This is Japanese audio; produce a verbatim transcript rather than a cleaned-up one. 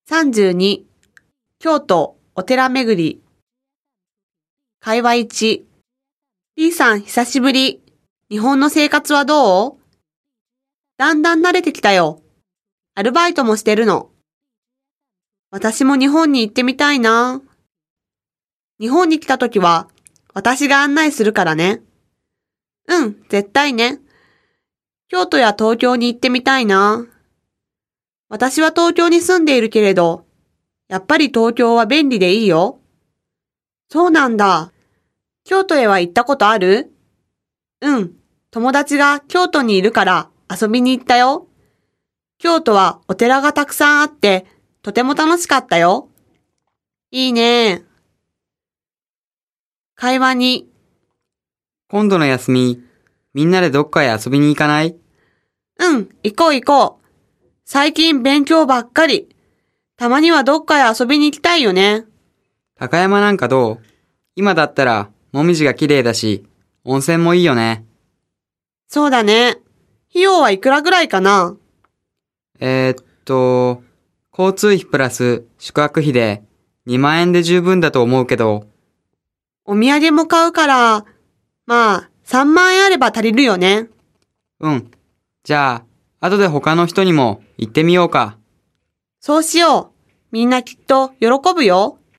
さんじゅうに、京都お寺巡り。会話いち、リーさん久しぶり。日本の生活はどう？だんだん慣れてきたよ。アルバイトもしてるの。私も日本に行ってみたいな。日本に来たときは、私が案内するからね。うん、絶対ね。京都や東京に行ってみたいな。私は東京に住んでいるけれど、やっぱり東京は便利でいいよ。そうなんだ。京都へは行ったことある？うん、友達が京都にいるから遊びに行ったよ。京都はお寺がたくさんあって、とても楽しかったよ。いいね。会話に。 今度の休み、みんなでどっかへ遊びに行かない？ うん、行こう行こう。最近勉強ばっかり。たまにはどっかへ遊びに行きたいよね。 高山なんかどう？今だったら、もみじが綺麗だし、温泉もいいよね。 そうだね。費用はいくらぐらいかな？ えー、っと、交通費プラス宿泊費でにまん円で十分だと思うけど。 お土産も買うから、まあさんまん円あれば足りるよね。 うん。じゃあ、後で他の人にも行ってみようか。 そうしよう。みんなきっと喜ぶよ。